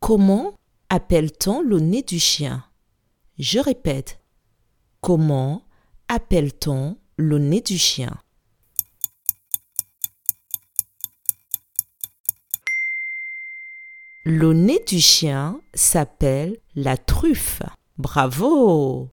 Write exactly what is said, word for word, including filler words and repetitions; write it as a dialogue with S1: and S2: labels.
S1: Comment appelle-t-on le nez du chien? Je répète. Comment appelle-t-on le nez du chien? Le nez du chien s'appelle la truffe. Bravo!